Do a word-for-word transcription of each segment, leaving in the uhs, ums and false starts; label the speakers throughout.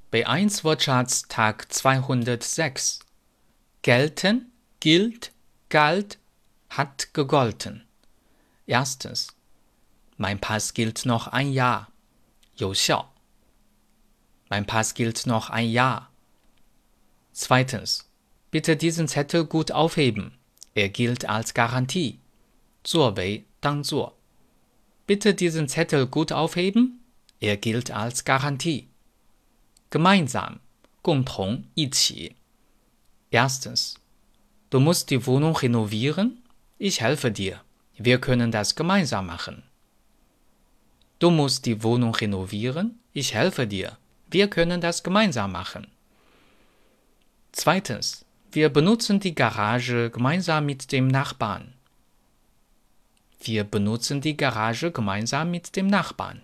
Speaker 1: B eins Wortschatz Tag zweihundertsechs. Gelten, gilt, galt, hat gegolten. Erstens. Mein Pass gilt noch ein Jahr. 有效. Mein Pass gilt noch ein Jahr. Zweitens. Bitte diesen Zettel gut aufheben. Er gilt als Garantie. 作为当作. Bitte diesen Zettel gut aufheben. Er gilt als Garantie. Gemeinsam. 共同一起. Erstens. Du musst die Wohnung renovieren? Ich helfe dir. Wir können das gemeinsam machen. Du musst die Wohnung renovieren? Ich helfe dir. Wir können das gemeinsam machen. Zweitens. Wir benutzen die Garage gemeinsam mit dem Nachbarn. Wir benutzen die Garage gemeinsam mit dem Nachbarn.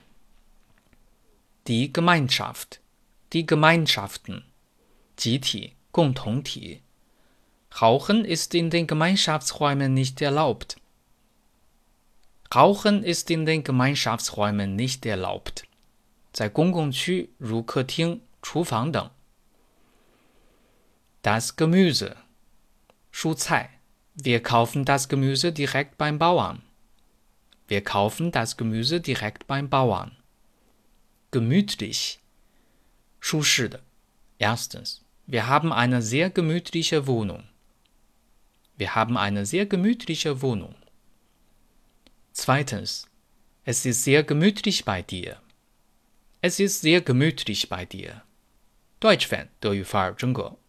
Speaker 1: Die Gemeinschaft. Die Gemeinschaften. 集体, 共同体. Rauchen ist in den Gemeinschaftsräumen nicht erlaubt. Rauchen ist in den Gemeinschaftsräumen nicht erlaubt. 在公共区如客厅、厨房等. Das Gemüse. 蔬菜. Wir kaufen das Gemüse direkt beim Bauern. Wir kaufen das Gemüse direkt beim Bauern. Gemütlich. 舒适的. Erstens. Wir haben eine sehr gemütliche Wohnung. Wir haben eine sehr gemütliche Wohnung. Zweitens. Es ist sehr gemütlich bei dir. Es ist sehr gemütlich bei dir. Deutsch Fan 德语范儿真格